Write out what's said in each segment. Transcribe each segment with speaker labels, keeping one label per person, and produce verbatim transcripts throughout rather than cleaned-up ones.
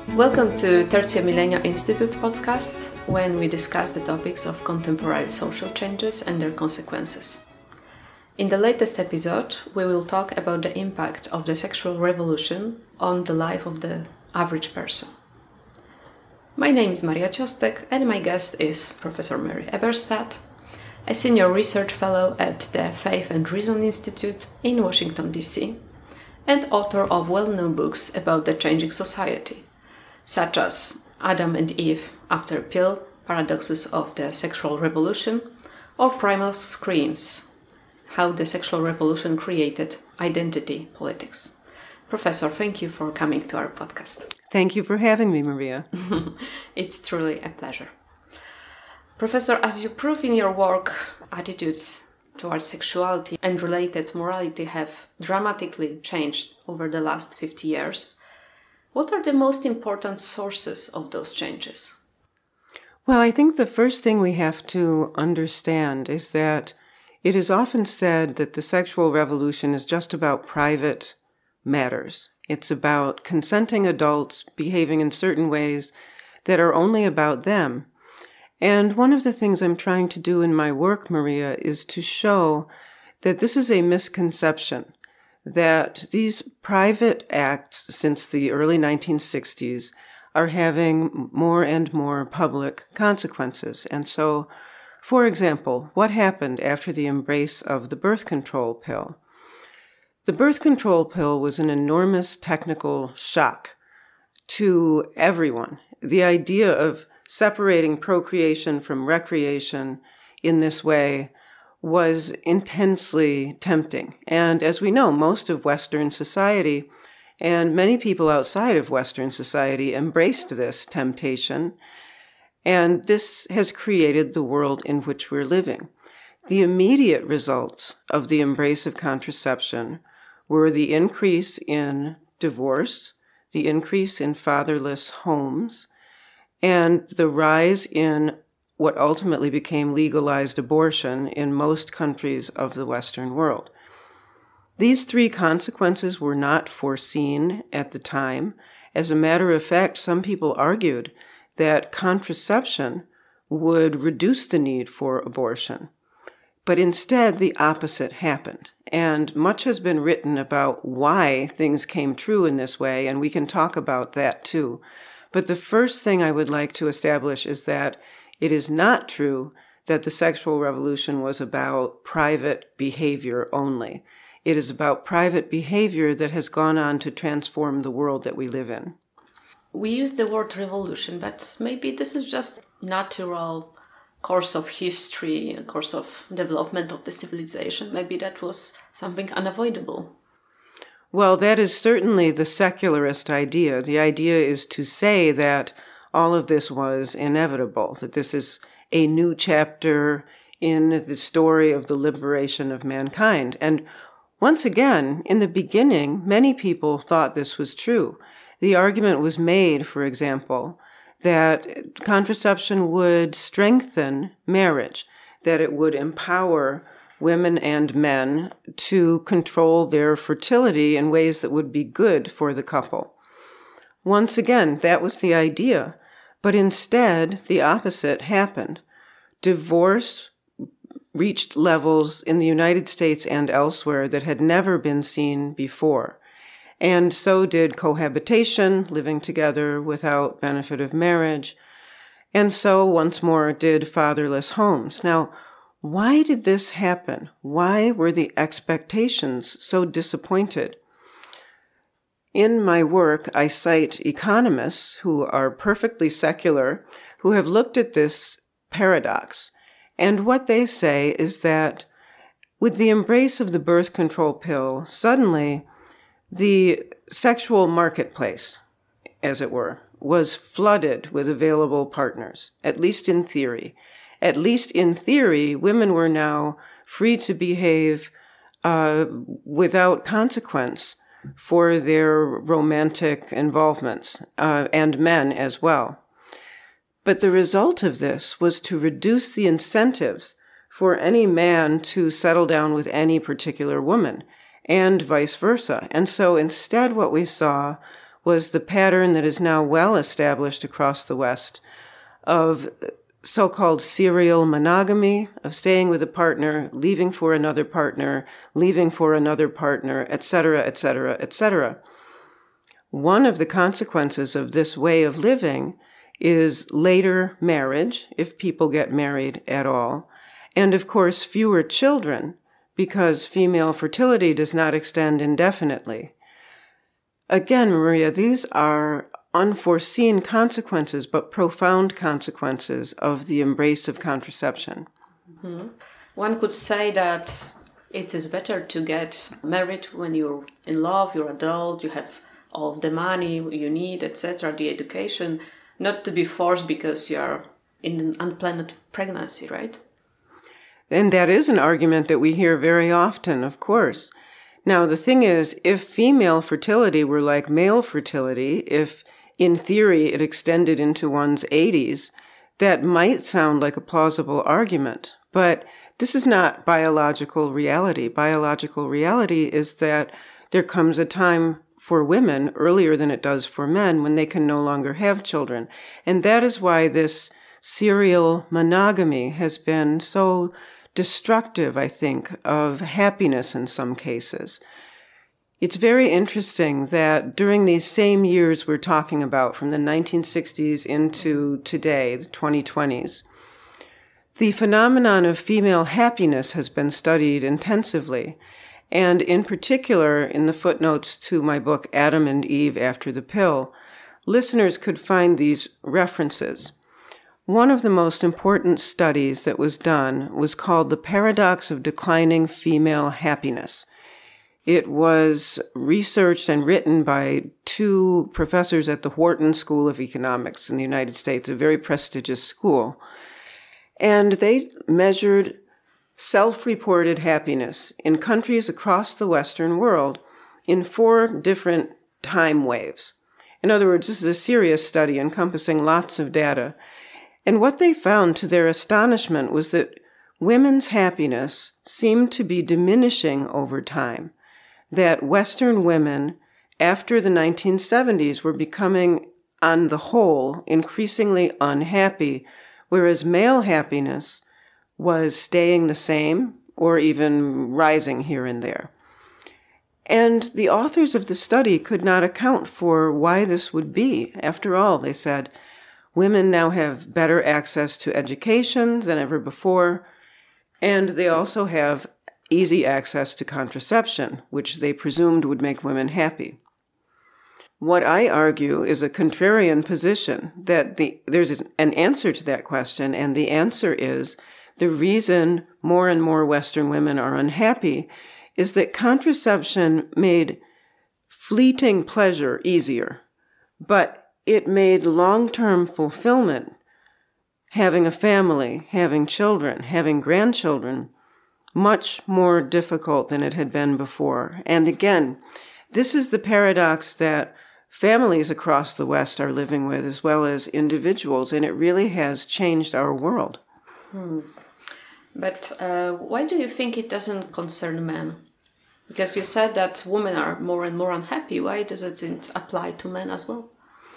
Speaker 1: Welcome to Tertia Millennia Institute podcast, when we discuss the topics of contemporary social changes and their consequences. In the latest episode, we will talk about the impact of the sexual revolution on the life of the average person. My name is Maria Ciostek, and my guest is Professor Mary Eberstadt, a senior research fellow at the Faith and Reason Institute in Washington, D C, and author of well-known books about the changing society, such as Adam and Eve After a Pill, Paradoxes of the Sexual Revolution, or Primal Screams, How the Sexual Revolution Created Identity Politics. Professor, thank you for coming to our podcast.
Speaker 2: Thank you for having me, Maria.
Speaker 1: It's truly a pleasure. Professor, as you prove in your work, attitudes towards sexuality and related morality have dramatically changed over the last fifty years. What are the most important sources of those changes?
Speaker 2: Well, I think the first thing we have to understand is that it is often said that the sexual revolution is just about private matters. It's about consenting adults behaving in certain ways that are only about them. And one of the things I'm trying to do in my work, Maria, is to show that this is a misconception, that these private acts since the early nineteen sixties are having more and more public consequences. And so, for example, what happened after the embrace of the birth control pill? The birth control pill was an enormous technical shock to everyone. The idea of separating procreation from recreation in this way was intensely tempting. And as we know, most of Western society and many people outside of Western society embraced this temptation. And this has created the world in which we're living. The immediate results of the embrace of contraception were the increase in divorce, the increase in fatherless homes, and the rise in what ultimately became legalized abortion in most countries of the Western world. These three consequences were not foreseen at the time. As a matter of fact, some people argued that contraception would reduce the need for abortion. But instead, the opposite happened. And much has been written about why things came true in this way, and we can talk about that too. But the first thing I would like to establish is that it is not true that the sexual revolution was about private behavior only. It is about private behavior that has gone on to transform the world that we live in.
Speaker 1: We use the word revolution, but maybe this is just natural course of history, a course of development of the civilization. Maybe that was something unavoidable.
Speaker 2: Well, that is certainly the secularist idea. The idea is to say that all of this was inevitable, that this is a new chapter in the story of the liberation of mankind. And once again, in the beginning, many people thought this was true. The argument was made, for example, that contraception would strengthen marriage, that it would empower women and men to control their fertility in ways that would be good for the couple. Once again, that was the idea, but instead, the opposite happened. Divorce reached levels in the United States and elsewhere that had never been seen before. And so did cohabitation, living together without benefit of marriage. And so, once more, did fatherless homes. Now, why did this happen? Why were the expectations so disappointed? In my work, I cite economists who are perfectly secular, who have looked at this paradox. And what they say is that with the embrace of the birth control pill, suddenly the sexual marketplace, as it were, was flooded with available partners, at least in theory. At least in theory, women were now free to behave uh, without consequence for their romantic involvements, uh, and men as well. But the result of this was to reduce the incentives for any man to settle down with any particular woman, and vice versa. And so instead what we saw was the pattern that is now well established across the West of so-called serial monogamy, of staying with a partner, leaving for another partner, leaving for another partner, et cetera, et cetera, et cetera. One of the consequences of this way of living is later marriage, if people get married at all, and of course fewer children, because female fertility does not extend indefinitely. Again, Maria, these are unforeseen consequences, but profound consequences of the embrace of contraception.
Speaker 1: Mm-hmm. One could say that it is better to get married when you're in love, you're adult, you have all of the money you need, et cetera, the education, not to be forced because you are in an unplanned pregnancy, right?
Speaker 2: And that is an argument that we hear very often, of course. Now, the thing is, if female fertility were like male fertility, if in theory it extended into one's eighties, that might sound like a plausible argument. But this is not biological reality. Biological reality is that there comes a time for women earlier than it does for men when they can no longer have children. And that is why this serial monogamy has been so destructive, I think, of happiness in some cases. It's very interesting that during these same years we're talking about, from the nineteen sixties into today, the twenty twenties, the phenomenon of female happiness has been studied intensively. And in particular, in the footnotes to my book, Adam and Eve After the Pill, listeners could find these references. One of the most important studies that was done was called The Paradox of Declining Female Happiness. It was researched and written by two professors at the Wharton School of Economics in the United States, a very prestigious school. And they measured self-reported happiness in countries across the Western world in four different time waves. In other words, this is a serious study encompassing lots of data. And what they found, to their astonishment, was that women's happiness seemed to be diminishing over time, that Western women, after the nineteen seventies, were becoming, on the whole, increasingly unhappy, whereas male happiness was staying the same or even rising here and there. And the authors of the study could not account for why this would be. After all, they said, women now have better access to education than ever before, and they also have easy access to contraception, which they presumed would make women happy. What I argue is a contrarian position, that the, there's an answer to that question, and the answer is the reason more and more Western women are unhappy is that contraception made fleeting pleasure easier, but it made long-term fulfillment, having a family, having children, having grandchildren, much more difficult than it had been before. And again, this is the paradox that families across the West are living with, as well as individuals, and it really has changed our world.
Speaker 1: Hmm. But uh, why do you think it doesn't concern men? Because you said that women are more and more unhappy. Why does it apply to men as well?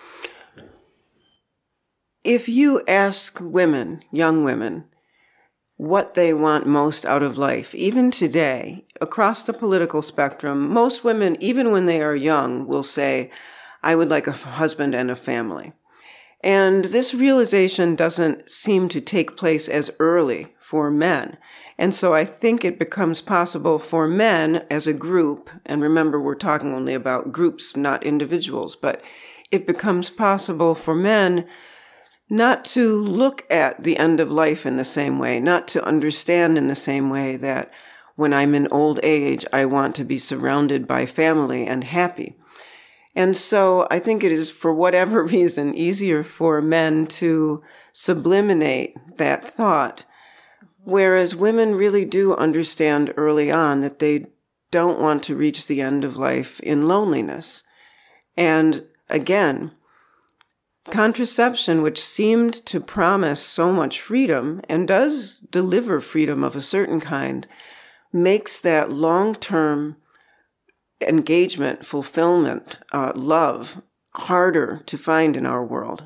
Speaker 2: If you ask women, young women, what they want most out of life, even today, across the political spectrum, most women, even when they are young, will say, I would like a husband and a family. And this realization doesn't seem to take place as early for men. And so I think it becomes possible for men as a group, and remember we're talking only about groups, not individuals, but it becomes possible for men not to look at the end of life in the same way, not to understand in the same way that when I'm in old age, I want to be surrounded by family and happy. And so I think it is, for whatever reason, easier for men to subliminate that thought, whereas women really do understand early on that they don't want to reach the end of life in loneliness. And again, contraception, which seemed to promise so much freedom and does deliver freedom of a certain kind, makes that long-term engagement, fulfillment, uh, love harder to find in our world.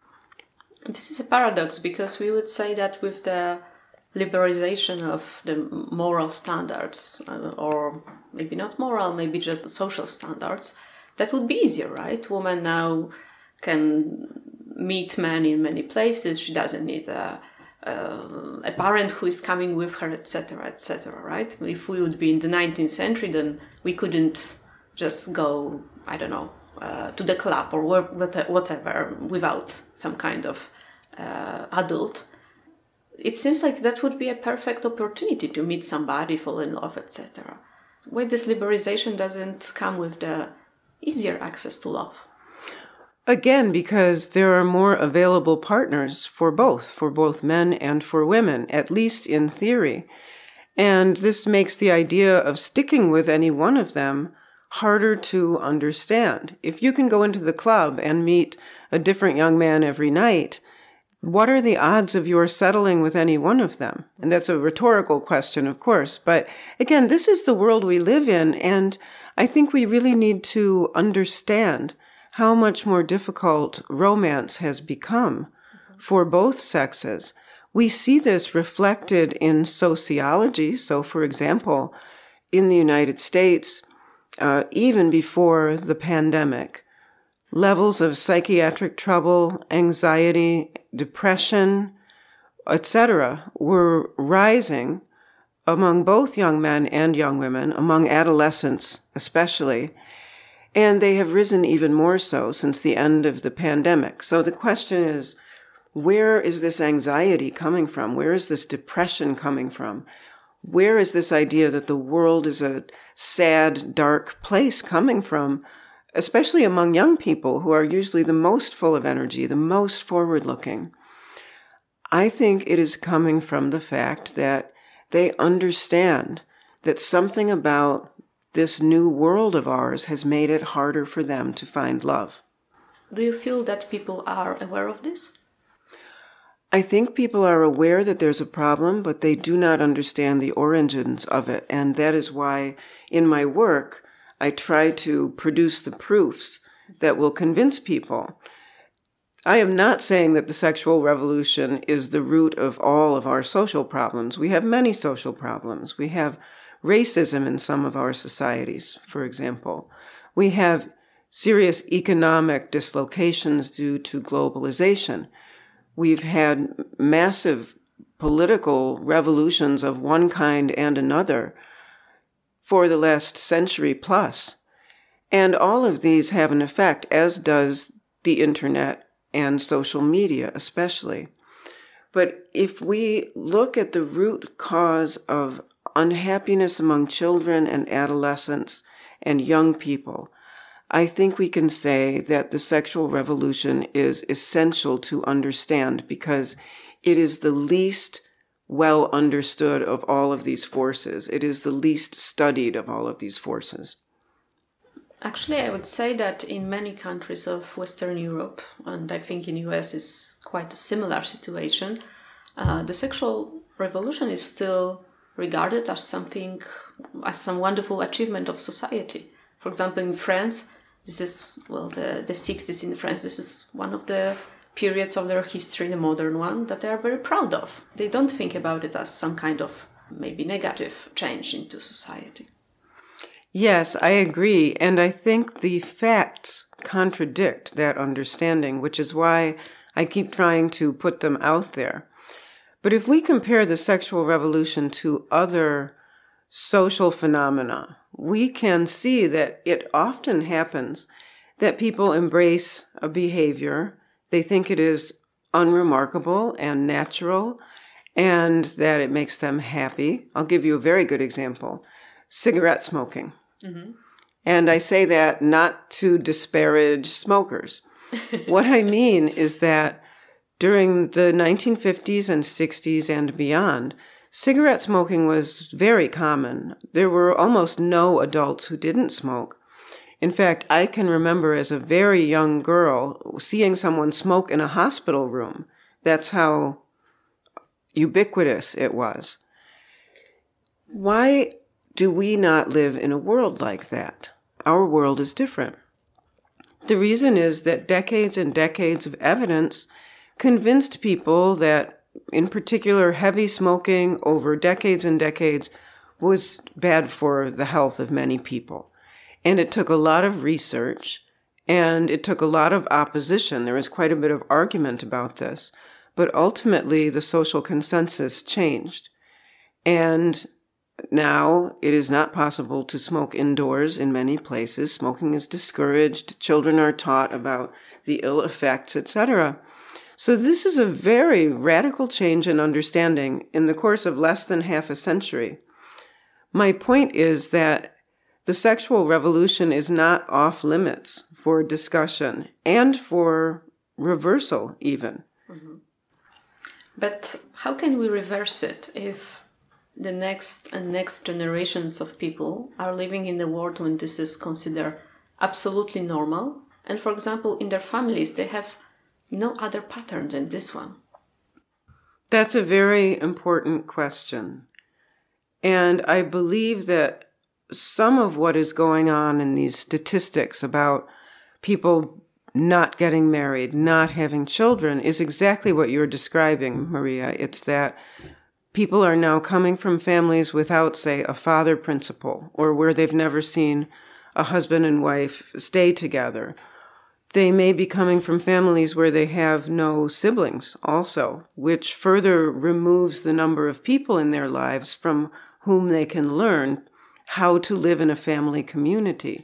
Speaker 1: This is a paradox, because we would say that with the liberalization of the moral standards, uh, or maybe not moral, maybe just the social standards, that would be easier, right? Women now can meet men in many places. She doesn't need a, a, a parent who is coming with her, et cetera, et cetera, right? If we would be in the nineteenth century, then we couldn't just go, I don't know, uh, to the club or whatever without some kind of uh, adult. It seems like that would be a perfect opportunity to meet somebody, fall in love, et cetera. Why this liberalization doesn't come with the easier access to love?
Speaker 2: Again, because there are more available partners for both, for both men and for women, at least in theory. And this makes the idea of sticking with any one of them harder to understand. If you can go into the club and meet a different young man every night, what are the odds of your settling with any one of them? And that's a rhetorical question, of course. But again, this is the world we live in, and I think we really need to understand how much more difficult romance has become for both sexes. We see this reflected in sociology. So, for example, in the United States, uh, even before the pandemic, levels of psychiatric trouble, anxiety, depression, et cetera, were rising among both young men and young women, among adolescents especially, and they have risen even more so since the end of the pandemic. So the question is, where is this anxiety coming from? Where is this depression coming from? Where is this idea that the world is a sad, dark place coming from? Especially among young people who are usually the most full of energy, the most forward-looking. I think it is coming from the fact that they understand that something about this new world of ours has made it harder for them to find love.
Speaker 1: Do you feel that people are aware of this?
Speaker 2: I think people are aware that there's a problem, but they do not understand the origins of it. And that is why in my work, I try to produce the proofs that will convince people. I am not saying that the sexual revolution is the root of all of our social problems. We have many social problems. We have racism in some of our societies, for example. We have serious economic dislocations due to globalization. We've had massive political revolutions of one kind and another for the last century plus. And all of these have an effect, as does the internet and social media especially. But if we look at the root cause of unhappiness among children and adolescents and young people, I think we can say that the sexual revolution is essential to understand because it is the least well understood of all of these forces. It is the least studied of all of these forces.
Speaker 1: Actually, I would say that in many countries of Western Europe, and I think in the U S is quite a similar situation, uh, the sexual revolution is still regarded as something, as some wonderful achievement of society. For example, in France, this is, well, the, the sixties in France, this is one of the periods of their history, the modern one, that they are very proud of. They don't think about it as some kind of maybe negative change into society.
Speaker 2: Yes, I agree. And I think the facts contradict that understanding, which is why I keep trying to put them out there. But if we compare the sexual revolution to other social phenomena, we can see that it often happens that people embrace a behavior. They think it is unremarkable and natural and that it makes them happy. I'll give you a very good example. Cigarette smoking. Mm-hmm. And I say that not to disparage smokers. What I mean is that during the nineteen fifties and sixties and beyond, cigarette smoking was very common. There were almost no adults who didn't smoke. In fact, I can remember as a very young girl seeing someone smoke in a hospital room. That's how ubiquitous it was. Why do we not live in a world like that? Our world is different. The reason is that decades and decades of evidence convinced people that, in particular, heavy smoking over decades and decades was bad for the health of many people. And it took a lot of research, and it took a lot of opposition. There was quite a bit of argument about this. But ultimately, the social consensus changed. And now it is not possible to smoke indoors in many places. Smoking is discouraged. Children are taught about the ill effects, et cetera. So this is a very radical change in understanding in the course of less than half a century. My point is that the sexual revolution is not off limits for discussion and for reversal even.
Speaker 1: Mm-hmm. But how can we reverse it if the next and next generations of people are living in a world when this is considered absolutely normal? And for example, in their families, they have no other pattern than this one.
Speaker 2: That's a very important question. And I believe that some of what is going on in these statistics about people not getting married, not having children, is exactly what you're describing, Maria. It's that people are now coming from families without, say, a father principle, or where they've never seen a husband and wife stay together. They may be coming from families where they have no siblings also, which further removes the number of people in their lives from whom they can learn how to live in a family community.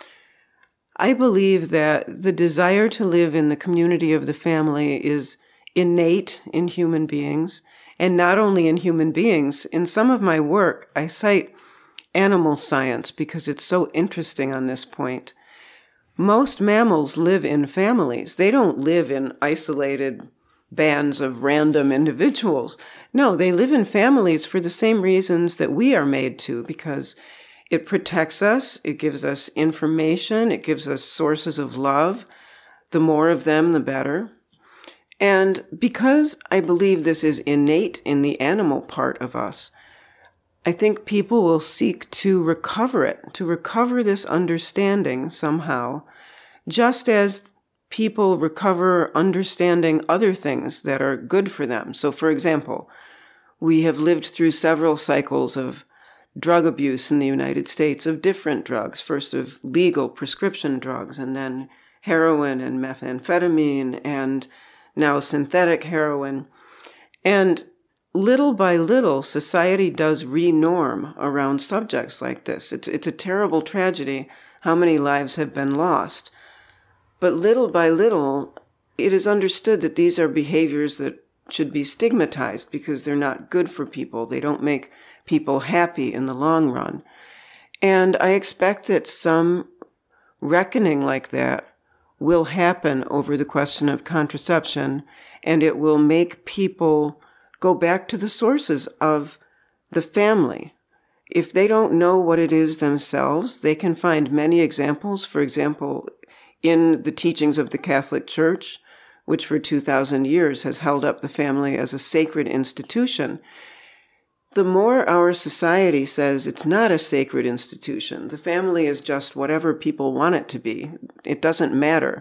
Speaker 2: I believe that the desire to live in the community of the family is innate in human beings, and not only in human beings. In some of my work, I cite animal science because it's so interesting on this point. Most mammals live in families. They don't live in isolated bands of random individuals. No, they live in families for the same reasons that we are made to, because it protects us, it gives us information, it gives us sources of love. The more of them, the better. And because I believe this is innate in the animal part of us, I think people will seek to recover it, to recover this understanding somehow, just as people recover understanding other things that are good for them. So, for example, we have lived through several cycles of drug abuse in the United States, of different drugs, first of legal prescription drugs, and then heroin and methamphetamine, and now synthetic heroin. And little by little, society does re-norm around subjects like this. It's, it's a terrible tragedy how many lives have been lost. But little by little, it is understood that these are behaviors that should be stigmatized because they're not good for people. They don't make people happy in the long run. And I expect that some reckoning like that will happen over the question of contraception, and it will make people go back to the sources of the family. If they don't know what it is themselves, they can find many examples. For example, in the teachings of the Catholic Church, which for two thousand years has held up the family as a sacred institution. The more our society says it's not a sacred institution, the family is just whatever people want it to be, it doesn't matter.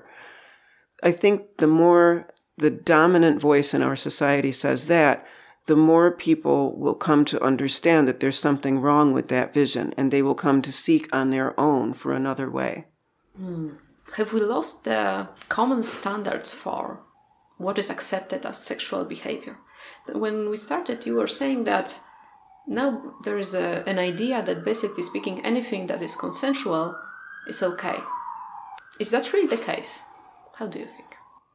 Speaker 2: I think the more the dominant voice in our society says that, the more people will come to understand that there's something wrong with that vision, and they will come to seek on their own for another way.
Speaker 1: Hmm. Have we lost the common standards for what is accepted as sexual behavior? When we started, you were saying that now there is a, an idea that basically speaking, anything that is consensual is okay. Is that really the case? How do you think?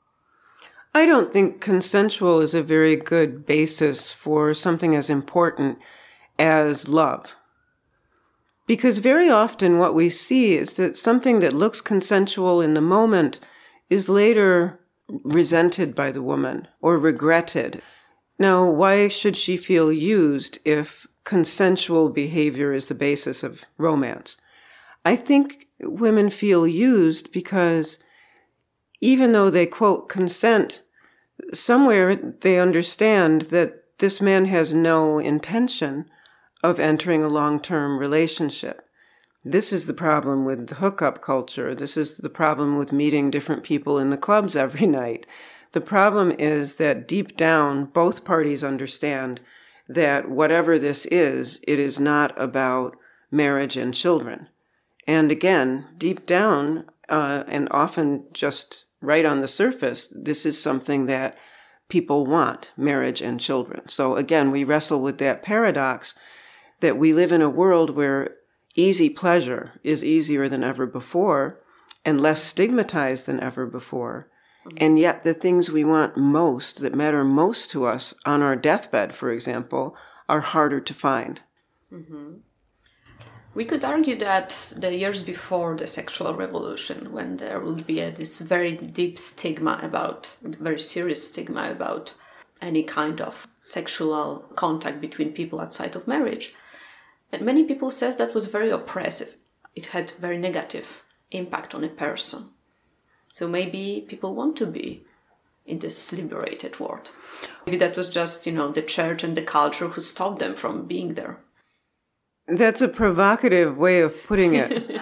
Speaker 2: I don't think consensual is a very good basis for something as important as love. Because very often what we see is that something that looks consensual in the moment is later resented by the woman or regretted. Now, why should she feel used if consensual behavior is the basis of romance? I think women feel used because even though they, quote, consent, somewhere they understand that this man has no intention of entering a long-term relationship. This is the problem with the hookup culture. This is the problem with meeting different people in the clubs every night. The problem is that deep down, both parties understand that whatever this is, it is not about marriage and children. And again, deep down, uh, and often just right on the surface, this is something that people want, marriage and children. So again, we wrestle with that paradox that we live in a world where easy pleasure is easier than ever before and less stigmatized than ever before. Mm-hmm. And yet the things we want most, that matter most to us on our deathbed, for example, are harder to find.
Speaker 1: Mm-hmm. We could argue that the years before the sexual revolution, when there would be a, this very deep stigma about, very serious stigma about any kind of sexual contact between people outside of marriage, and many people says that was very oppressive. It had very negative impact on a person. So maybe people want to be in this liberated world. Maybe that was just, you know, the church and the culture who stopped them from being there.
Speaker 2: That's a provocative way of putting it.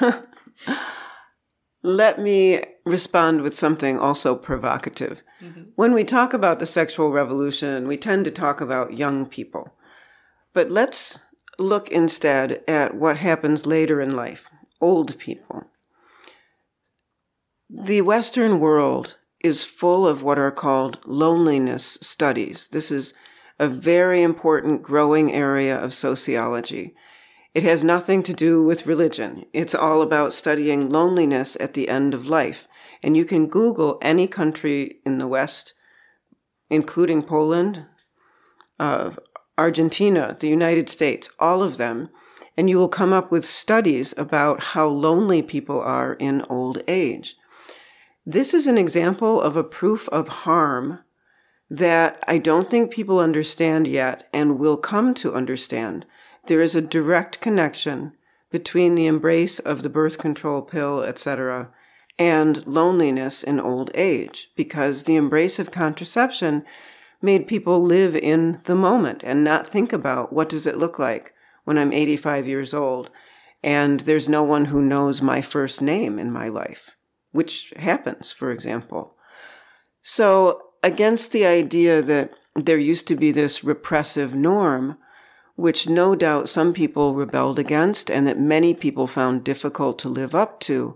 Speaker 2: Let me respond with something also provocative. Mm-hmm. When we talk about the sexual revolution, we tend to talk about young people. But let's look instead at what happens later in life, old people. The Western world is full of what are called loneliness studies. This is a very important growing area of sociology. It has nothing to do with religion. It's all about studying loneliness at the end of life. And you can Google any country in the West, including Poland, uh, Argentina, the United States, all of them, and you will come up with studies about how lonely people are in old age. This is an example of a proof of harm that I don't think people understand yet and will come to understand. There is a direct connection between the embrace of the birth control pill, et cetera, and loneliness in old age, because the embrace of contraception made people live in the moment and not think about what does it look like when I'm eighty-five years old and there's no one who knows my first name in my life, which happens, for example. So against the idea that there used to be this repressive norm, which no doubt some people rebelled against and that many people found difficult to live up to,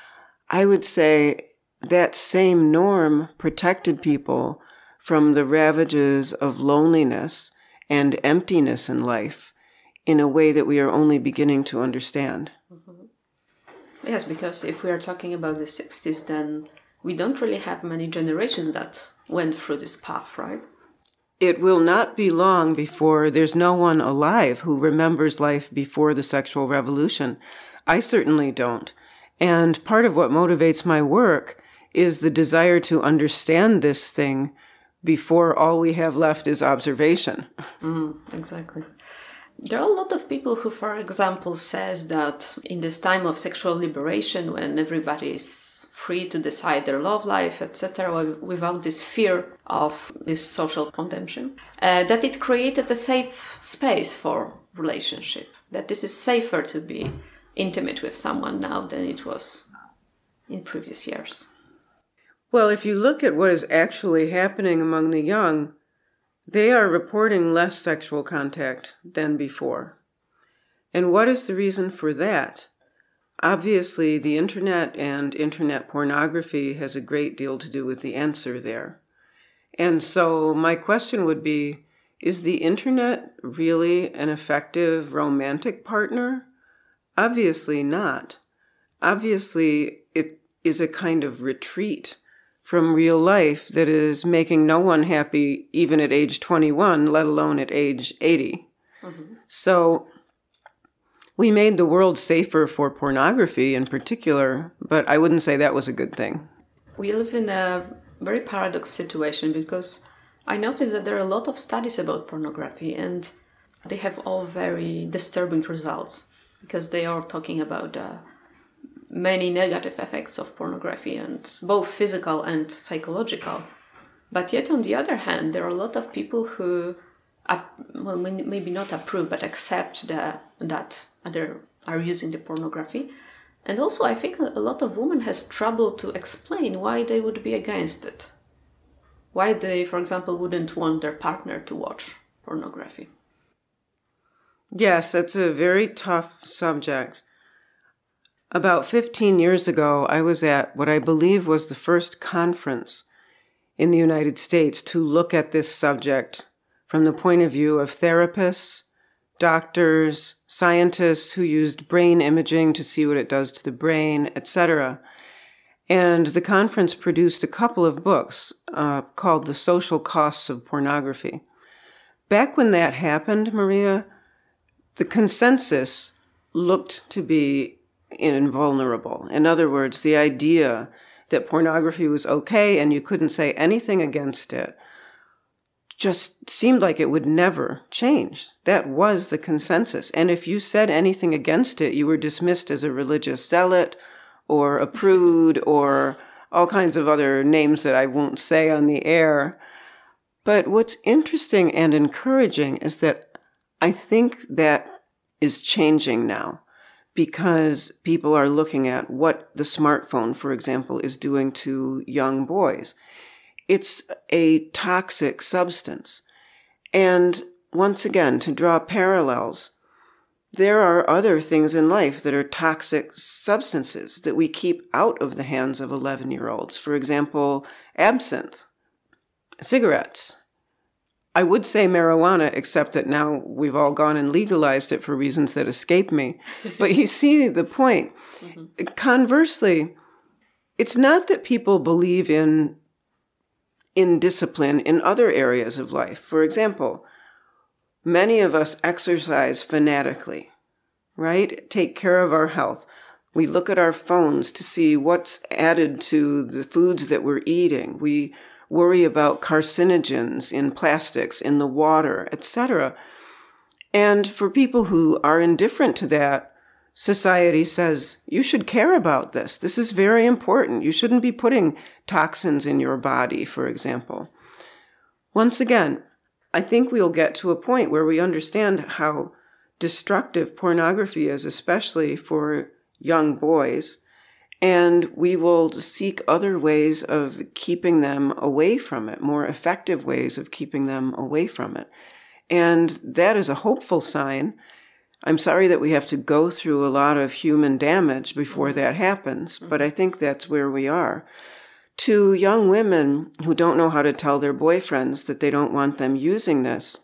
Speaker 2: I would say that same norm protected people from the ravages of loneliness and emptiness in life in a way that we are only beginning to understand.
Speaker 1: Mm-hmm. Yes, because if we are talking about the sixties, then we don't really have many generations that went through this path, right?
Speaker 2: It will not be long before there's no one alive who remembers life before the sexual revolution. I certainly don't. And part of what motivates my work is the desire to understand this thing before all we have left is observation.
Speaker 1: Mm, exactly. There are a lot of people who, for example, says that in this time of sexual liberation, when everybody is free to decide their love life, et cetera, without this fear of this social condemnation, uh, that it created a safe space for relationship, that this is safer to be intimate with someone now than it was in previous years.
Speaker 2: Well, if you look at what is actually happening among the young, they are reporting less sexual contact than before. And what is the reason for that? Obviously, the internet and internet pornography has a great deal to do with the answer there. And so my question would be, is the internet really an effective romantic partner? Obviously not. Obviously, it is a kind of retreat from real life that is making no one happy even at age twenty-one, let alone at age eighty. Mm-hmm. So we made the world safer for pornography in particular, but I wouldn't say that was a good thing.
Speaker 1: We live in a very paradox situation because I noticed that there are a lot of studies about pornography and they have all very disturbing results because they are talking about uh, many negative effects of pornography, and both physical and psychological. But yet, on the other hand, there are a lot of people who, well, maybe not approve, but accept the, that other are using the pornography. And also, I think a lot of women has trouble to explain why they would be against it. Why they, for example, wouldn't want their partner to watch pornography.
Speaker 2: Yes, that's a very tough subject. About fifteen years ago, I was at what I believe was the first conference in the United States to look at this subject from the point of view of therapists, doctors, scientists who used brain imaging to see what it does to the brain, et cetera. And the conference produced a couple of books uh, called The Social Costs of Pornography. Back when that happened, Maria, the consensus looked to be invulnerable. In other words, the idea that pornography was okay and you couldn't say anything against it just seemed like it would never change. That was the consensus. And if you said anything against it, you were dismissed as a religious zealot or a prude or all kinds of other names that I won't say on the air. But what's interesting and encouraging is that I think that is changing now because people are looking at what the smartphone, for example, is doing to young boys. It's a toxic substance. And once again, to draw parallels, there are other things in life that are toxic substances that we keep out of the hands of eleven-year-olds. For example, absinthe, cigarettes. I would say marijuana, except that now we've all gone and legalized it for reasons that escape me. But you see the point. Mm-hmm. Conversely, it's not that people believe in in discipline in other areas of life. For example, many of us exercise fanatically, right? Take care of our health. We look at our phones to see what's added to the foods that we're eating. We worry about carcinogens in plastics, in the water, et cetera. And for people who are indifferent to that, society says, you should care about this. This is very important. You shouldn't be putting toxins in your body, for example. Once again, I think we'll get to a point where we understand how destructive pornography is, especially for young boys, and we will seek other ways of keeping them away from it, more effective ways of keeping them away from it. And that is a hopeful sign. I'm sorry that we have to go through a lot of human damage before that happens, but I think that's where we are. To young women who don't know how to tell their boyfriends that they don't want them using this,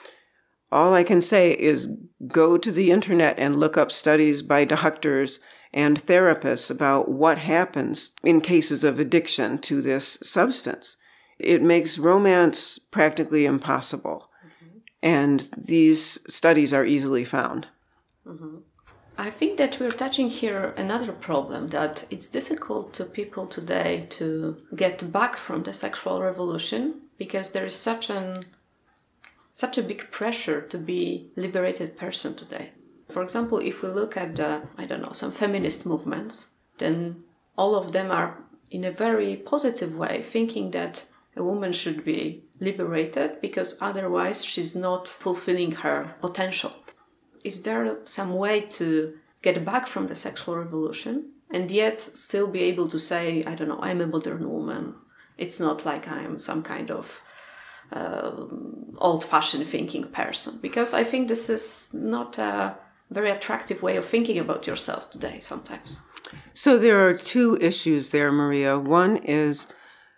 Speaker 2: all I can say is go to the internet and look up studies by doctors and therapists about what happens in cases of addiction to this substance. It makes romance practically impossible, mm-hmm. and these studies are easily found.
Speaker 1: Mm-hmm. I think that we're touching here another problem, that it's difficult to people today to get back from the sexual revolution because there is such an such a big pressure to be a liberated person today. For example, if we look at the, I don't know, some feminist movements, then all of them are in a very positive way thinking that a woman should be liberated because otherwise she's not fulfilling her potential. Is there some way to get back from the sexual revolution and yet still be able to say, I don't know, I'm a modern woman. It's not like I'm some kind of uh, old-fashioned thinking person. Because I think this is not a very attractive way of thinking about yourself today sometimes.
Speaker 2: So there are two issues there, Maria. One is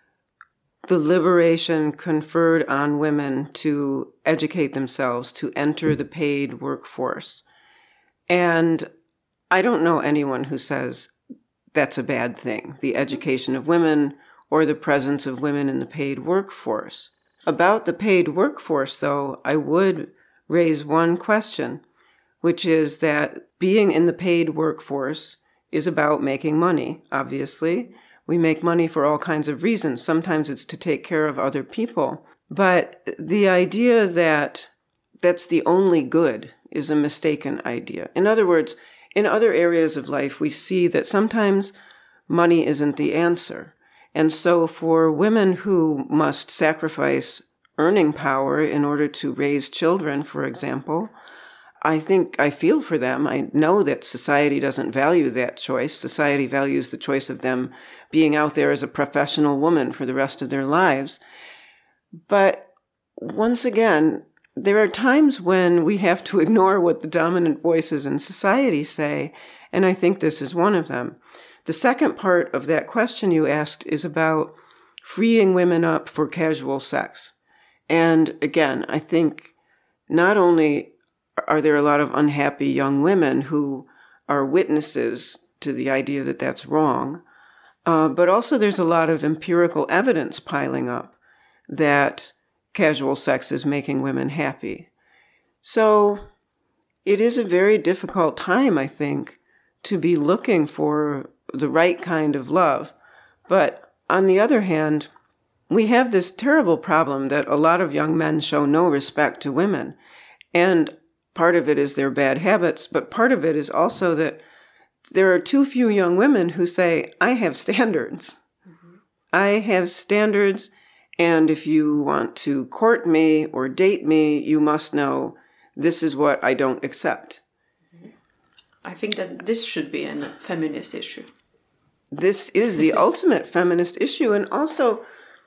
Speaker 2: the liberation conferred on women to educate themselves, to enter the paid workforce. And I don't know anyone who says that's a bad thing, the education of women or the presence of women in the paid workforce. About the paid workforce, though, I would raise one question, which is that being in the paid workforce is about making money, obviously. We make money for all kinds of reasons. Sometimes it's to take care of other people. But the idea that that's the only good is a mistaken idea. In other words, in other areas of life, we see that sometimes money isn't the answer. And so for women who must sacrifice earning power in order to raise children, for example, I think I feel for them. I know that society doesn't value that choice. Society values the choice of them being out there as a professional woman for the rest of their lives. But once again, there are times when we have to ignore what the dominant voices in society say, and I think this is one of them. The second part of that question you asked is about freeing women up for casual sex. And again, I think not only are there a lot of unhappy young women who are witnesses to the idea that that's wrong, uh, but also there's a lot of empirical evidence piling up that casual sex is making women happy. So it is a very difficult time, I think, to be looking for the right kind of love. But on the other hand, we have this terrible problem that a lot of young men show no respect to women. And part of it is their bad habits, but part of it is also that there are too few young women who say, I have standards. Mm-hmm. I have standards, and if you want to court me or date me, you must know this is what I don't accept.
Speaker 1: I think that this should be a feminist issue.
Speaker 2: This is the ultimate feminist issue. And also,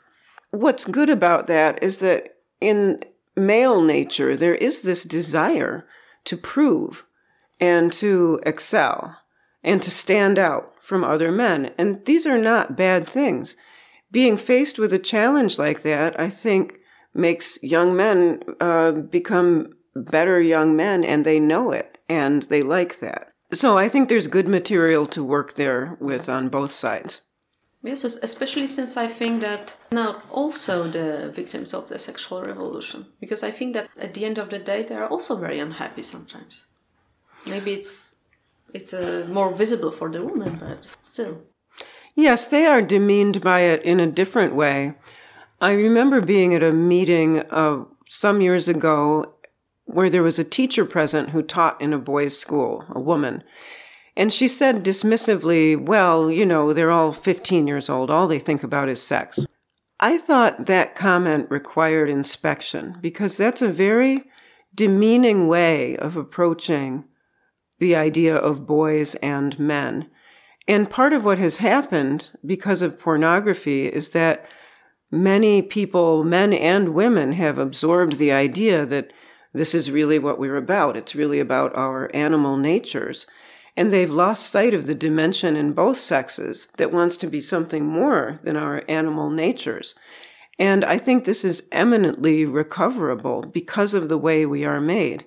Speaker 2: what's good about that is that in male nature, there is this desire to prove and to excel and to stand out from other men. And these are not bad things. Being faced with a challenge like that, I think, makes young men uh, become better young men, and they know it, and they like that. So I think there's good material to work there with on both sides.
Speaker 1: Yes, especially since I think that now also the victims of the sexual revolution, because I think that at the end of the day they are also very unhappy sometimes. Maybe it's it's uh, more visible for the woman, but still.
Speaker 2: Yes, they are demeaned by it in a different way. I remember being at a meeting uh, some years ago where there was a teacher present who taught in a boys' school, a woman. And she said dismissively, well, you know, they're all fifteen years old. All they think about is sex. I thought that comment required inspection because that's a very demeaning way of approaching the idea of boys and men. And part of what has happened because of pornography is that many people, men and women, have absorbed the idea that this is really what we're about. It's really about our animal natures. And they've lost sight of the dimension in both sexes that wants to be something more than our animal natures. And I think this is eminently recoverable because of the way we are made.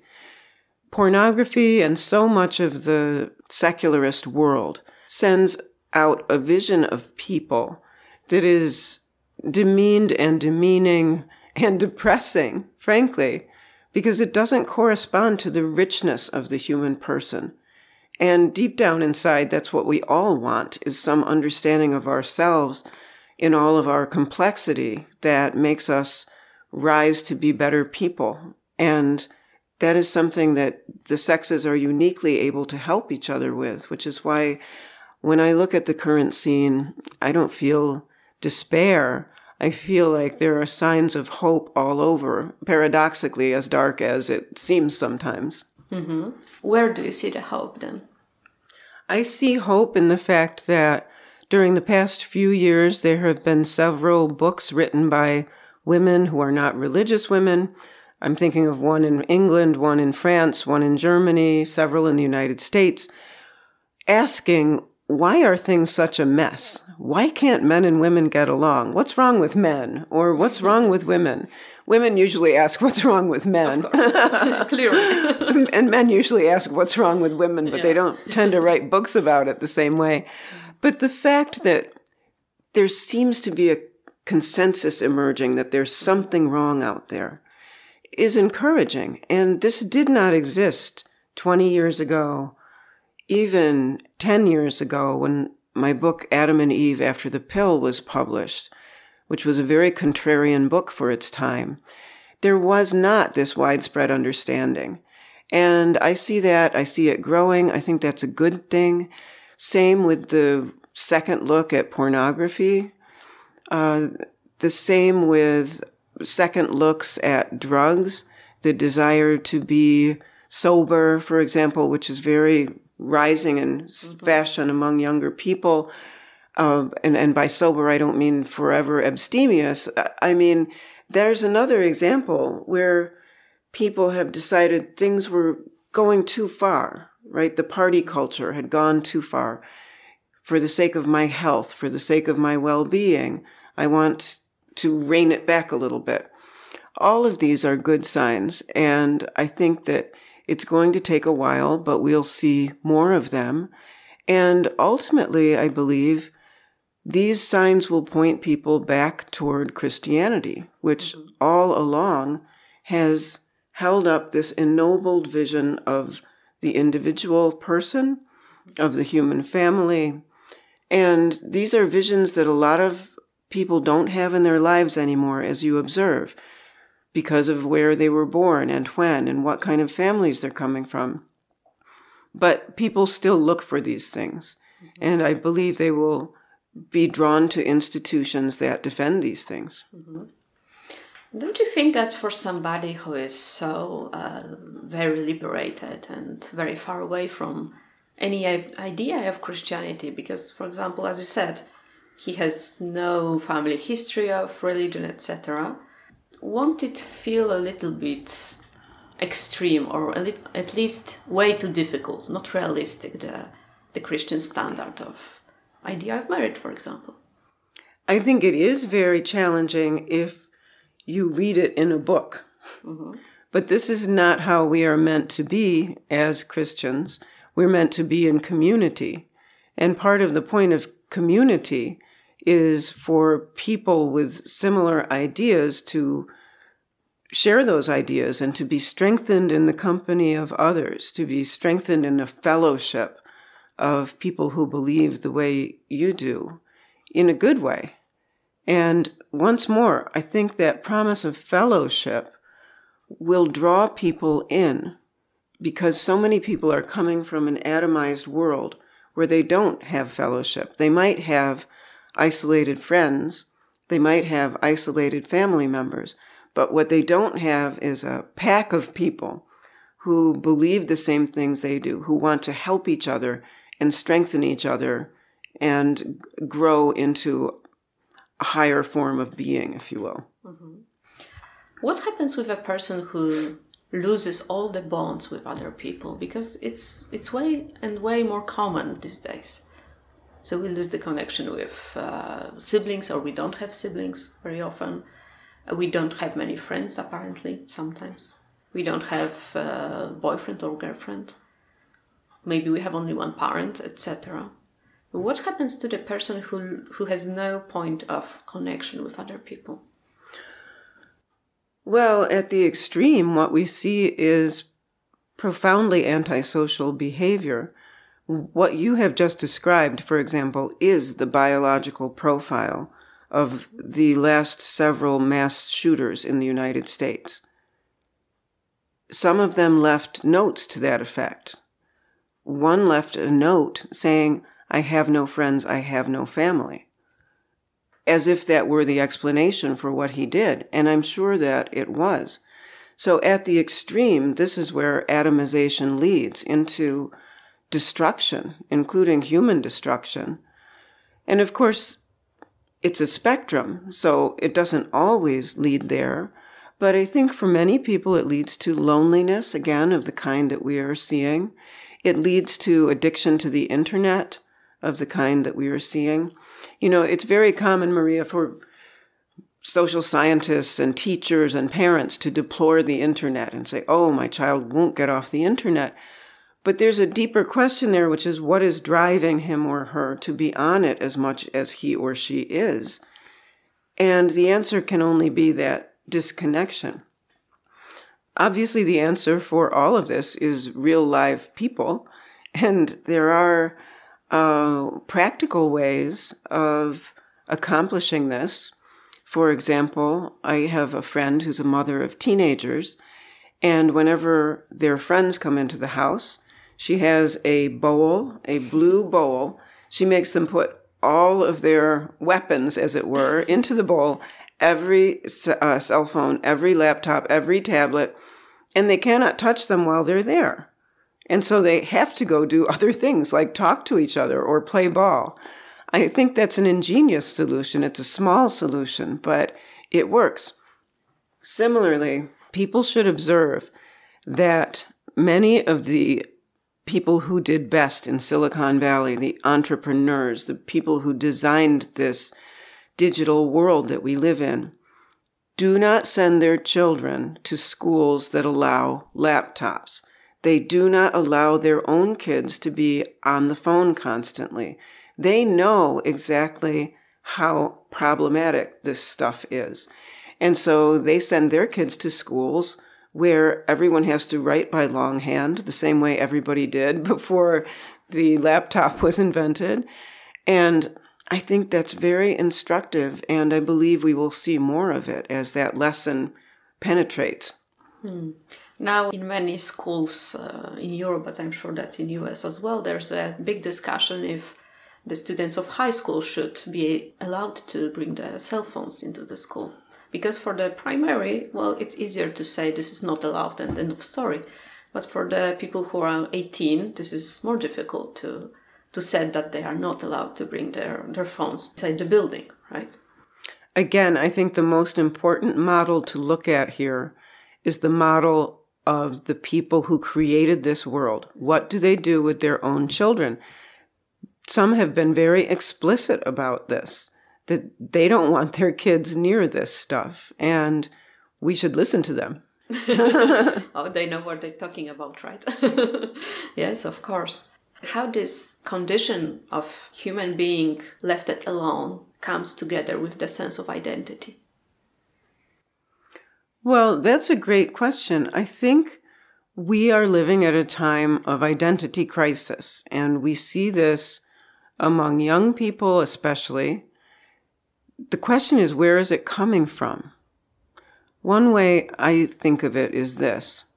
Speaker 2: Pornography and so much of the secularist world sends out a vision of people that is demeaned and demeaning and depressing, frankly, because it doesn't correspond to the richness of the human person. And deep down inside, that's what we all want, is some understanding of ourselves in all of our complexity that makes us rise to be better people. And that is something that the sexes are uniquely able to help each other with, which is why when I look at the current scene, I don't feel despair. I feel like there are signs of hope all over, paradoxically as dark as it seems sometimes.
Speaker 1: Mm-hmm. Where do you see the hope then?
Speaker 2: I see hope in the fact that during the past few years, there have been several books written by women who are not religious women. I'm thinking of one in England, one in France, one in Germany, several in the United States, asking, why are things such a mess? Why can't men and women get along? What's wrong with men? Or what's wrong with women? Women usually ask, what's wrong with men?
Speaker 1: Clearly.
Speaker 2: And men usually ask, what's wrong with women? But
Speaker 1: yeah.
Speaker 2: They don't tend to write books about it the same way. But the fact that there seems to be a consensus emerging that there's something wrong out there is encouraging. And this did not exist twenty years ago, even ten years ago, when my book Adam and Eve After the Pill was published, which was a very contrarian book for its time. There was not this widespread understanding. And I see that, I see it growing. I think that's a good thing. Same with the second look at pornography. Uh, the same with second looks at drugs, the desire to be sober, for example, which is very rising in mm-hmm. fashion among younger people. Uh, and, and by sober, I don't mean forever abstemious. I mean, there's another example where people have decided things were going too far, right? The party culture had gone too far. For the sake of my health, for the sake of my well-being, I want to rein it back a little bit. All of these are good signs, and I think that it's going to take a while, but we'll see more of them. And ultimately, I believe, these signs will point people back toward Christianity, which mm-hmm. all along has held up this ennobled vision of the individual person, of the human family. And these are visions that a lot of people don't have in their lives anymore, as you observe, because of where they were born and when and what kind of families they're coming from. But people still look for these things. Mm-hmm. And I believe they will be drawn to institutions that defend these things.
Speaker 1: Mm-hmm. Don't you think that for somebody who is so uh, very liberated and very far away from any idea of Christianity, because, for example, as you said, he has no family history of religion, et cetera, won't it feel a little bit extreme or a little, at least way too difficult, not realistic, the, the Christian standard of idea of marriage, for example?
Speaker 2: I think it is very challenging if you read it in a book. Mm-hmm. But this is not how we are meant to be as Christians. We're meant to be in community. And part of the point of community is for people with similar ideas to share those ideas and to be strengthened in the company of others, to be strengthened in a fellowship of people who believe the way you do, in a good way. And once more, I think that promise of fellowship will draw people in, because so many people are coming from an atomized world where they don't have fellowship. They might have isolated friends, they might have isolated family members, but what they don't have is a pack of people who believe the same things they do, who want to help each other and strengthen each other and grow into a higher form of being, if you will.
Speaker 1: Mm-hmm. What happens with a person who loses all the bonds with other people? Because it's it's way and way more common these days. So we lose the connection with uh, siblings, or we don't have siblings very often. Uh, we don't have many friends, apparently, sometimes. We don't have uh, boyfriend or girlfriend. Maybe we have only one parent, et cetera. What happens to the person who who has no point of connection with other people?
Speaker 2: Well, at the extreme, what we see is profoundly antisocial behavior. What you have just described, for example, is the biological profile of the last several mass shooters in the United States. Some of them left notes to that effect. One left a note saying, "I have no friends, I have no family," as if that were the explanation for what he did, and I'm sure that it was. So at the extreme, this is where atomization leads into destruction, including human destruction. And of course, it's a spectrum, so it doesn't always lead there, but I think for many people it leads to loneliness, again, of the kind that we are seeing. It leads to addiction to the internet, of the kind that we are seeing. You know, it's very common, Maria, for social scientists and teachers and parents to deplore the internet and say, oh, my child won't get off the internet. But there's a deeper question there, which is what is driving him or her to be on it as much as he or she is? And the answer can only be that disconnection. Obviously, the answer for all of this is real live people, and there are uh, practical ways of accomplishing this. For example, I have a friend who's a mother of teenagers, and whenever their friends come into the house, she has a bowl, a blue bowl. She makes them put all of their weapons, as it were, into the bowl. Every uh, cell phone, every laptop, every tablet, and they cannot touch them while they're there. And so they have to go do other things like talk to each other or play ball. I think that's an ingenious solution. It's a small solution, but it works. Similarly, people should observe that many of the people who did best in Silicon Valley, the entrepreneurs, the people who designed this digital world that we live in, do not send their children to schools that allow laptops. They do not allow their own kids to be on the phone constantly. They know exactly how problematic this stuff is. And so they send their kids to schools where everyone has to write by longhand, the same way everybody did before the laptop was invented. And I think that's very instructive, and I believe we will see more of it as that lesson penetrates.
Speaker 1: Hmm. Now, in many schools uh, in Europe, but I'm sure that in U S as well, there's a big discussion if the students of high school should be allowed to bring their cell phones into the school. Because for the primary, well, it's easier to say this is not allowed and end of story. But for the people who are eighteen, this is more difficult to to say that they are not allowed to bring their, their phones inside the building, right?
Speaker 2: Again, I think the most important model to look at here is the model of the people who created this world. What do they do with their own children? Some have been very explicit about this, that they don't want their kids near this stuff, and we should listen to them.
Speaker 1: Oh, they know what they're talking about, right? Yes, of course. How this condition of human being left alone comes together with the sense of identity?
Speaker 2: Well, that's a great question. I think we are living at a time of identity crisis, and we see this among young people especially. The question is, where is it coming from? One way I think of it is this.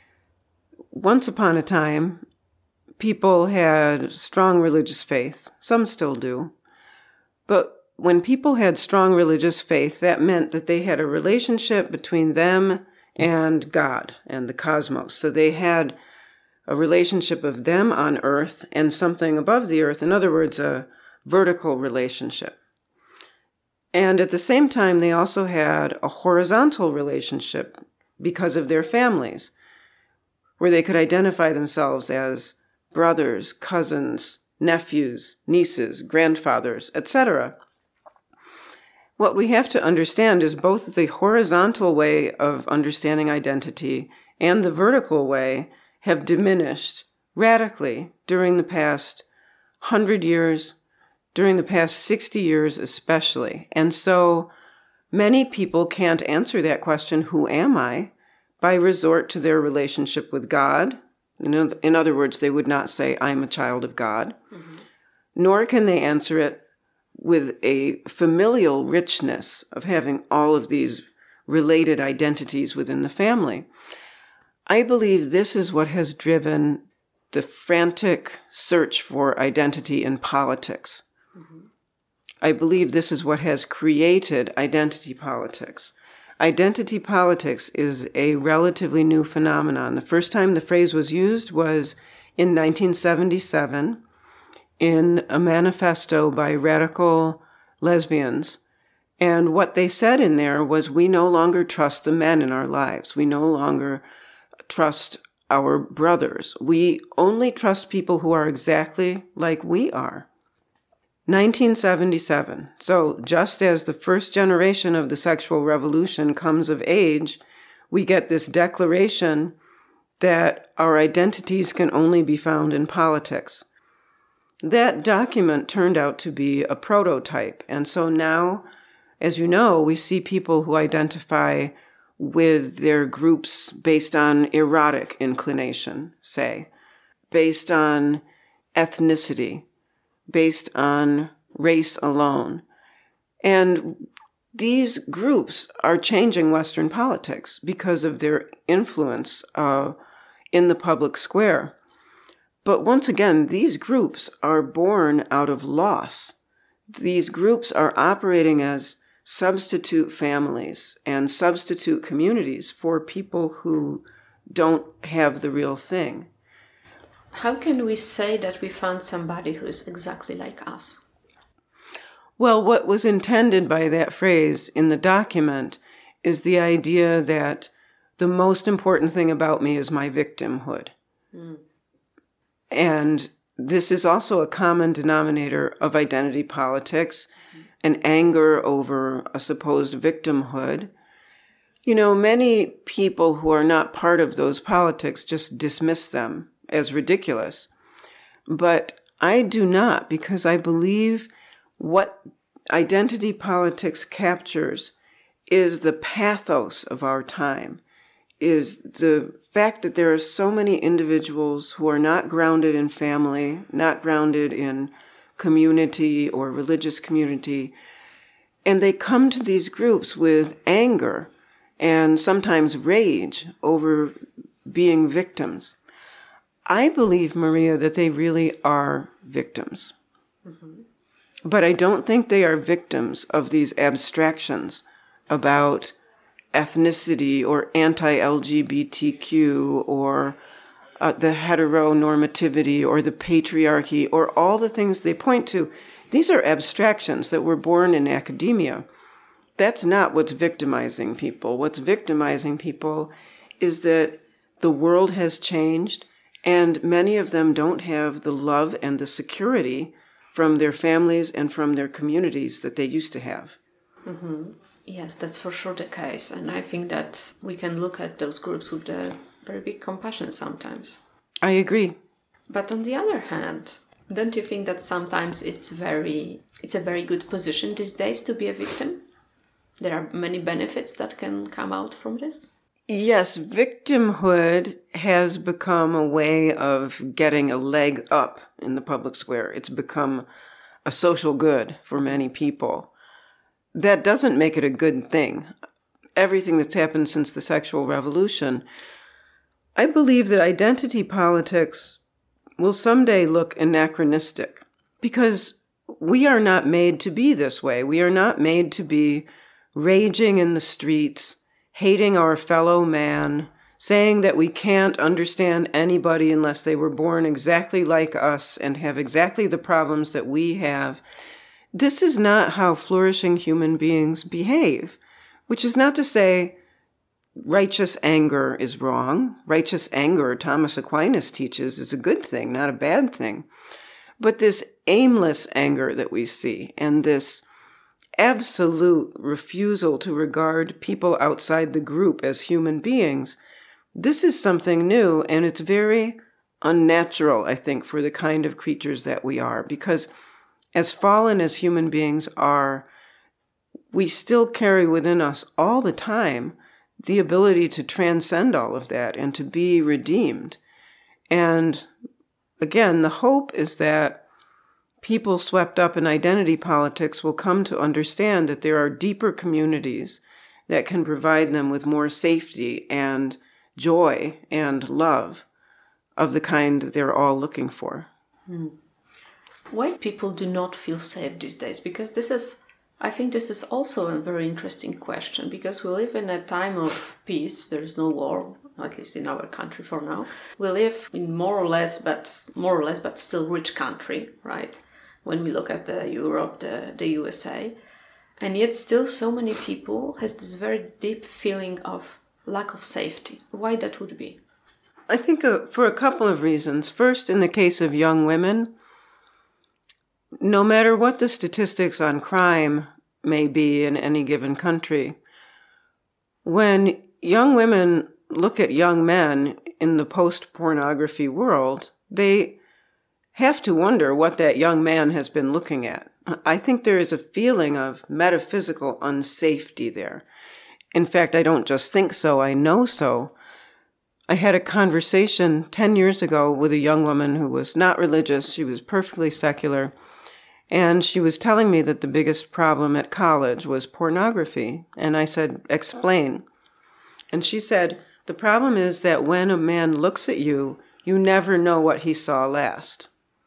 Speaker 2: Once upon a time, people had strong religious faith. Some still do. But when people had strong religious faith, that meant that they had a relationship between them and God and the cosmos. So they had a relationship of them on earth and something above the earth. In other words, a vertical relationship. And at the same time, they also had a horizontal relationship because of their families, where they could identify themselves as brothers, cousins, nephews, nieces, grandfathers, et cetera. What we have to understand is both the horizontal way of understanding identity and the vertical way have diminished radically during the past hundred years, during the past sixty years especially. And so many people can't answer that question, who am I, by resort to their relationship with God. In other words, they would not say, I'm a child of God. Mm-hmm. Nor can they answer it with a familial richness of having all of these related identities within the family. I believe this is what has driven the frantic search for identity in politics. Mm-hmm. I believe this is what has created identity politics. Identity politics is a relatively new phenomenon. The first time the phrase was used was in nineteen seventy-seven in a manifesto by radical lesbians. And what they said in there was, we no longer trust the men in our lives. We no longer trust our brothers. We only trust people who are exactly like we are. nineteen seventy-seven. So just as the first generation of the sexual revolution comes of age, we get this declaration that our identities can only be found in politics. That document turned out to be a prototype. And so now, as you know, we see people who identify with their groups based on erotic inclination, say, based on ethnicity, based on race alone. And these groups are changing Western politics because of their influence uh, in the public square. But once again, these groups are born out of loss. These groups are operating as substitute families and substitute communities for people who don't have the real thing.
Speaker 1: How can we say that we found somebody who is exactly like us?
Speaker 2: Well, what was intended by that phrase in the document is the idea that the most important thing about me is my victimhood. Mm. And this is also a common denominator of identity politics, mm. an anger over a supposed victimhood. You know, many people who are not part of those politics just dismiss them as ridiculous. But I do not, because I believe what identity politics captures is the pathos of our time, is the fact that there are so many individuals who are not grounded in family, not grounded in community or religious community, and they come to these groups with anger and sometimes rage over being victims. I believe, Maria, that they really are victims. Mm-hmm. But I don't think they are victims of these abstractions about ethnicity or anti-L G B T Q or uh, the heteronormativity or the patriarchy or all the things they point to. These are abstractions that were born in academia. That's not what's victimizing people. What's victimizing people is that the world has changed and many of them don't have the love and the security from their families and from their communities that they used to have.
Speaker 1: Mm-hmm. Yes, that's for sure the case. And I think that we can look at those groups with a very big compassion sometimes.
Speaker 2: I agree.
Speaker 1: But on the other hand, don't you think that sometimes it's very it's a very good position these days to be a victim? There are many benefits that can come out from this.
Speaker 2: Yes, victimhood has become a way of getting a leg up in the public square. It's become a social good for many people. That doesn't make it a good thing. Everything that's happened since the sexual revolution, I believe that identity politics will someday look anachronistic because we are not made to be this way. We are not made to be raging in the streets, hating our fellow man, saying that we can't understand anybody unless they were born exactly like us and have exactly the problems that we have. This is not how flourishing human beings behave, which is not to say righteous anger is wrong. Righteous anger, Thomas Aquinas teaches, is a good thing, not a bad thing. But this aimless anger that we see and this absolute refusal to regard people outside the group as human beings, this is something new, and it's very unnatural, I think, for the kind of creatures that we are, because as fallen as human beings are, we still carry within us all the time the ability to transcend all of that and to be redeemed. And again, the hope is that people swept up in identity politics will come to understand that there are deeper communities that can provide them with more safety and joy and love of the kind that they're all looking for.
Speaker 1: Mm. Why people do not feel safe these days? Because this is, I think this is also a very interesting question, because we live in a time of peace. There is no war, at least in our country for now. We live in more or less, but more or less, but still rich country, right? When we look at the Europe, the, the U S A. And yet still so many people has this very deep feeling of lack of safety. Why that would be?
Speaker 2: I think uh, for a couple of reasons. First, in the case of young women, no matter what the statistics on crime may be in any given country, when young women look at young men in the post-pornography world, they have to wonder what that young man has been looking at. I think there is a feeling of metaphysical unsafety there. In fact, I don't just think so, I know so. I had a conversation ten years ago with a young woman who was not religious. She was perfectly secular. And she was telling me that the biggest problem at college was pornography. And I said, explain. And she said, the problem is that when a man looks at you, you never know what he saw last.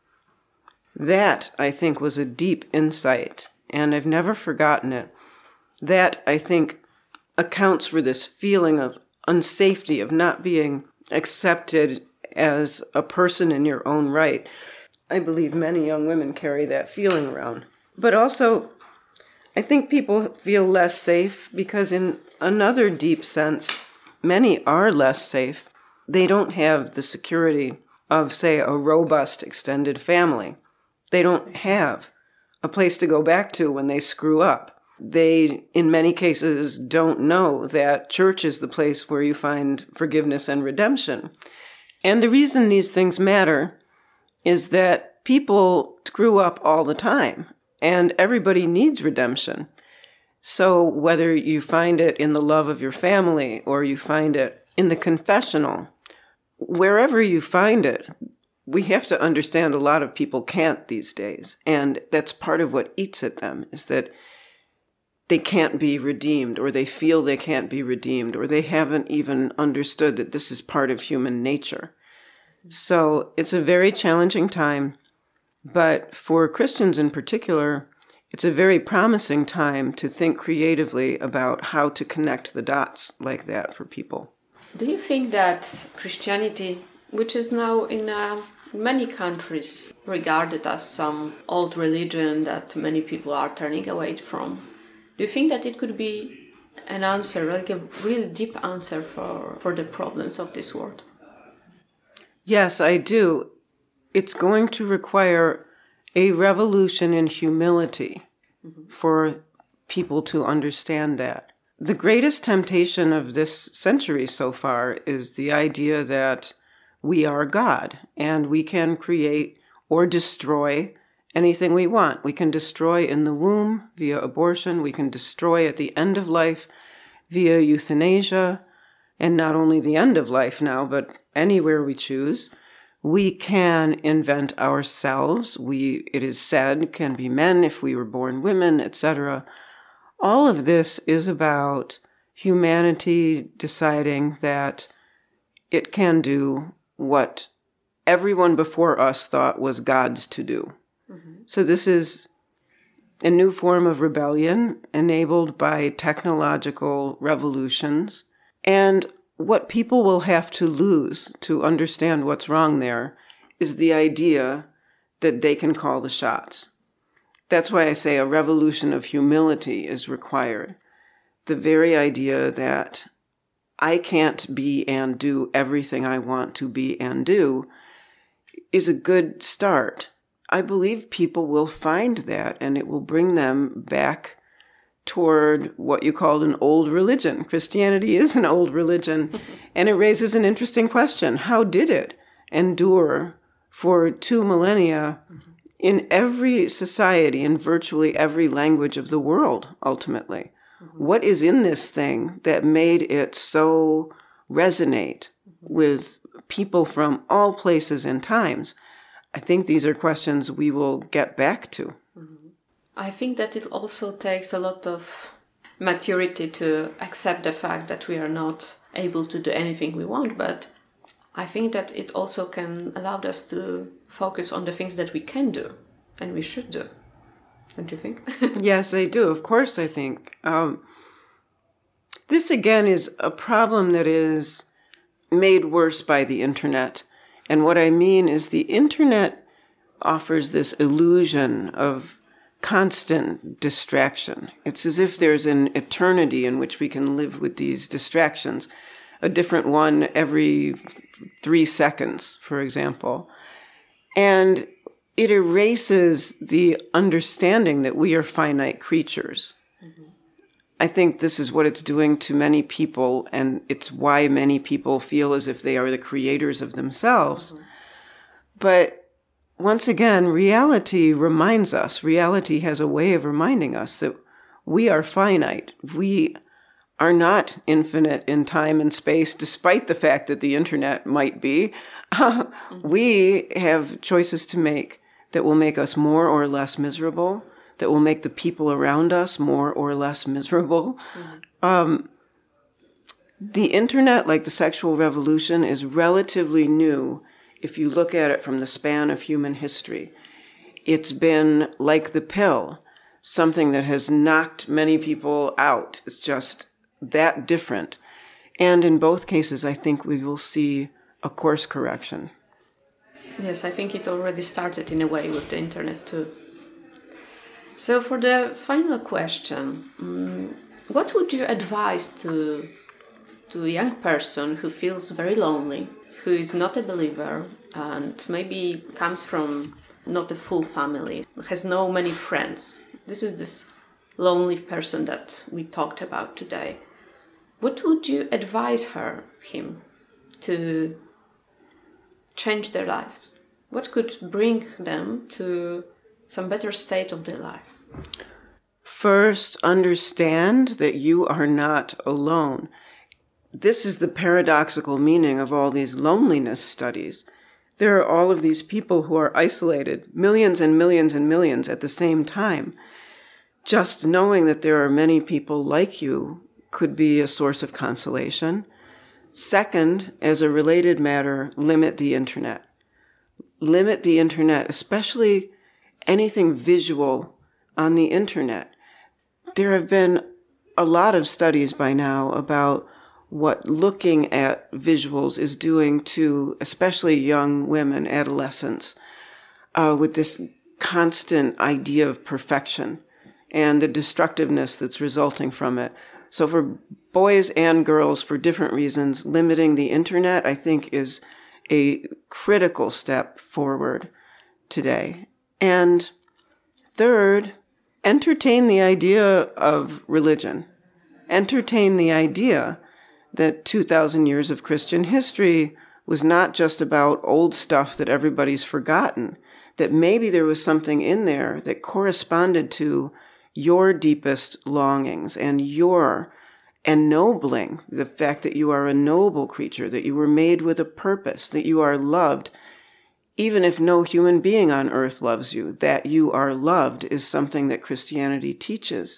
Speaker 2: That, I think, was a deep insight, and I've never forgotten it. That, I think, accounts for this feeling of unsafety, of not being accepted as a person in your own right. I believe many young women carry that feeling around. But also, I think people feel less safe because in another deep sense, many are less safe. They don't have the security of, say, a robust extended family. They don't have a place to go back to when they screw up. They, in many cases, don't know that church is the place where you find forgiveness and redemption. And the reason these things matter is that people screw up all the time, and everybody needs redemption. So whether you find it in the love of your family or you find it in the confessional, wherever you find it, we have to understand a lot of people can't these days. And that's part of what eats at them, is that they can't be redeemed, or they feel they can't be redeemed, or they haven't even understood that this is part of human nature. So it's a very challenging time, but for Christians in particular, it's a very promising time to think creatively about how to connect the dots like that for people.
Speaker 1: Do you think that Christianity, which is now in uh, many countries regarded as some old religion that many people are turning away from, do you think that it could be an answer, like a real deep answer for, for the problems of this world?
Speaker 2: Yes, I do. It's going to require a revolution in humility mm-hmm. for people to understand that. The greatest temptation of this century so far is the idea that we are God and we can create or destroy anything we want. We can destroy in the womb via abortion. We can destroy at the end of life via euthanasia. And not only the end of life now, but anywhere we choose. We can invent ourselves. We, it is said, can be men if we were born women, et cetera. All of this is about humanity deciding that it can do what everyone before us thought was God's to do. Mm-hmm. So this is a new form of rebellion enabled by technological revolutions. And what people will have to lose to understand what's wrong there is the idea that they can call the shots. That's why I say a revolution of humility is required. The very idea that I can't be and do everything I want to be and do is a good start. I believe people will find that, and it will bring them back toward what you called an old religion. Christianity is an old religion, and it raises an interesting question. How did it endure for two millennia in every society, in virtually every language of the world, ultimately? Mm-hmm. What is in this thing that made it so resonate mm-hmm. with people from all places and times? I think these are questions we will get back to. Mm-hmm.
Speaker 1: I think that it also takes a lot of maturity to accept the fact that we are not able to do anything we want, but I think that it also can allow us to focus on the things that we can do and we should do. Don't you think?
Speaker 2: Yes, I do. Of course, I think. Um, this, again, is a problem that is made worse by the internet. And what I mean is the internet offers this illusion of constant distraction. It's as if there's an eternity in which we can live with these distractions, a different one every three seconds, for example. And it erases the understanding that we are finite creatures. Mm-hmm. I think this is what it's doing to many people, and it's why many people feel as if they are the creators of themselves. Mm-hmm. But once again, reality reminds us, reality has a way of reminding us that we are finite. We are not infinite in time and space, despite the fact that the internet might be. Mm-hmm. We have choices to make that will make us more or less miserable, that will make the people around us more or less miserable. Mm-hmm. Um, the internet, like the sexual revolution, is relatively new if you look at it from the span of human history. It's been like the pill, something that has knocked many people out. It's just that different. And in both cases, I think we will see a course correction.
Speaker 1: Yes, I think it already started in a way with the internet too. So for the final question, um, what would you advise to, to a young person who feels very lonely, who is not a believer and maybe comes from not a full family, has no many friends? This is this lonely person that we talked about today. What would you advise her, him, to change their lives? What could bring them to some better state of their life?
Speaker 2: First, understand that you are not alone. This is the paradoxical meaning of all these loneliness studies. There are all of these people who are isolated, millions and millions and millions at the same time. Just knowing that there are many people like you could be a source of consolation. Second, as a related matter, limit the internet. Limit the internet, especially anything visual on the internet. There have been a lot of studies by now about what looking at visuals is doing to especially young women, adolescents, uh, with this constant idea of perfection and the destructiveness that's resulting from it. So for boys and girls, for different reasons, limiting the internet, I think, is a critical step forward today. And third, entertain the idea of religion. Entertain the idea that two thousand years of Christian history was not just about old stuff that everybody's forgotten, that maybe there was something in there that corresponded to your deepest longings and your ennobling, the fact that you are a noble creature, that you were made with a purpose, that you are loved. Even if no human being on earth loves you, that you are loved is something that Christianity teaches.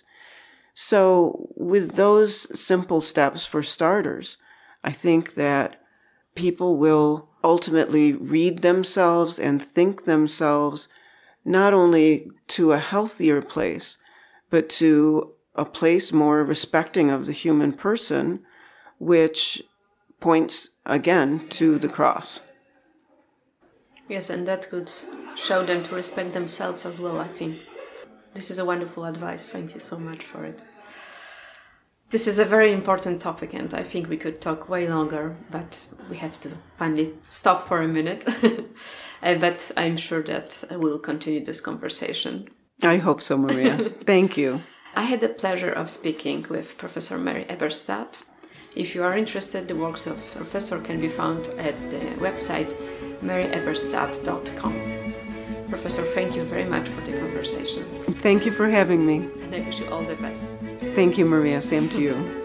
Speaker 2: So with those simple steps for starters, I think that people will ultimately read themselves and think themselves not only to a healthier place, but to a place more respecting of the human person, which points again to the cross.
Speaker 1: Yes, and that could show them to respect themselves as well, I think. This is a wonderful advice. Thank you so much for it. This is a very important topic, and I think we could talk way longer, but we have to finally stop for a minute. uh, but I'm sure that we'll continue this conversation.
Speaker 2: I hope so, Maria. Thank you.
Speaker 1: I had the pleasure of speaking with Professor Mary Eberstadt. If you are interested, the works of Professor can be found at the website mary eberstadt dot com. Professor, thank you very much for the conversation.
Speaker 2: Thank you for having me.
Speaker 1: And I wish you all the best.
Speaker 2: Thank you, Maria. Same to you.